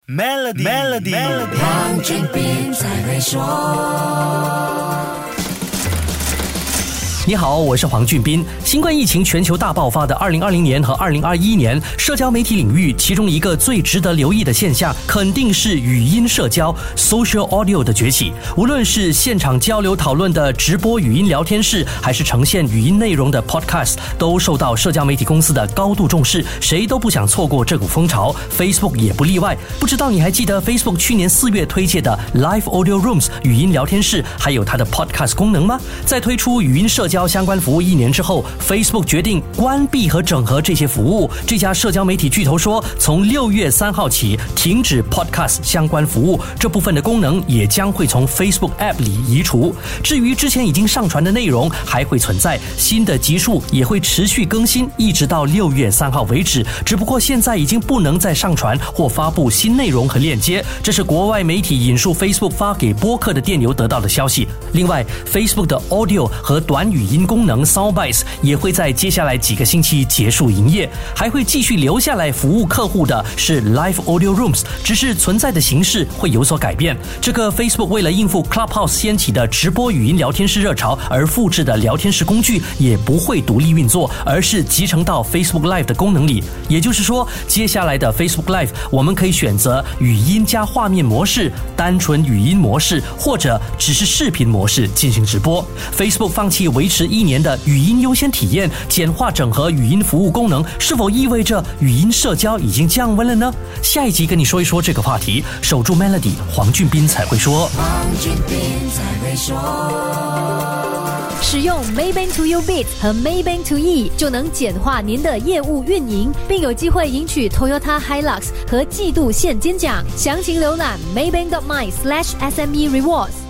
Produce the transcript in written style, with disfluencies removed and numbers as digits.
Melody， 黄俊斌才会说。 你好，我是黄俊斌。新冠疫情全球大爆发的2020年和2021年，社交媒体领域其中一个最值得留意的现象，肯定是语音社交 （social audio） 的崛起。无论是现场交流讨论的直播语音聊天室，还是呈现语音内容的 podcast， 都受到社交媒体公司的高度重视，谁都不想错过这股风潮。Facebook 也不例外。不知道你还记得 Facebook 去年4月推介的 Live Audio Rooms 语音聊天室，还有它的 podcast 功能吗？在推出语音社交相关服务1年之后， Facebook 决定关闭和整合这些服务。这家社交媒体巨头说，从6月3号起停止 Podcast 相关服务，这部分的功能也将会从 Facebook App 里移除。至于之前已经上传的内容还会存在，新的集数也会持续更新，一直到6月3号为止。只不过现在已经不能再上传或发布新内容和链接，这是国外媒体引述 Facebook 发给播客的电邮得到的消息。另外 Facebook 的 Audio 和短语音功能 Soundbites 也会在接下来几个星期结束营业，还会继续留下来服务客户的是 Live Audio Rooms， 只是存在的形式会有所改变。这个 Facebook 为了应付 Clubhouse 掀起的直播语音聊天室热潮而复制的聊天室工具也不会独立运作，而是集成到 Facebook Live 的功能里。也就是说，接下来的 Facebook Live 我们可以选择语音加画面模式、单纯语音模式，或者只是视频模式进行直播。 Facebook 放弃维持1年的语音优先体验，简化整合语音服务功能，是否意味着语音社交已经降温了呢？下一集跟你说一说这个话题。守住 Melody， 黄俊斌才会说。 黄俊斌才会说。 使用 Maybank To You Bit 和 Maybank To E 就能简化您的业务运营，并有机会赢取 Toyota Hilux 和季度现金奖。详情浏览 maybank.my/SME Rewards。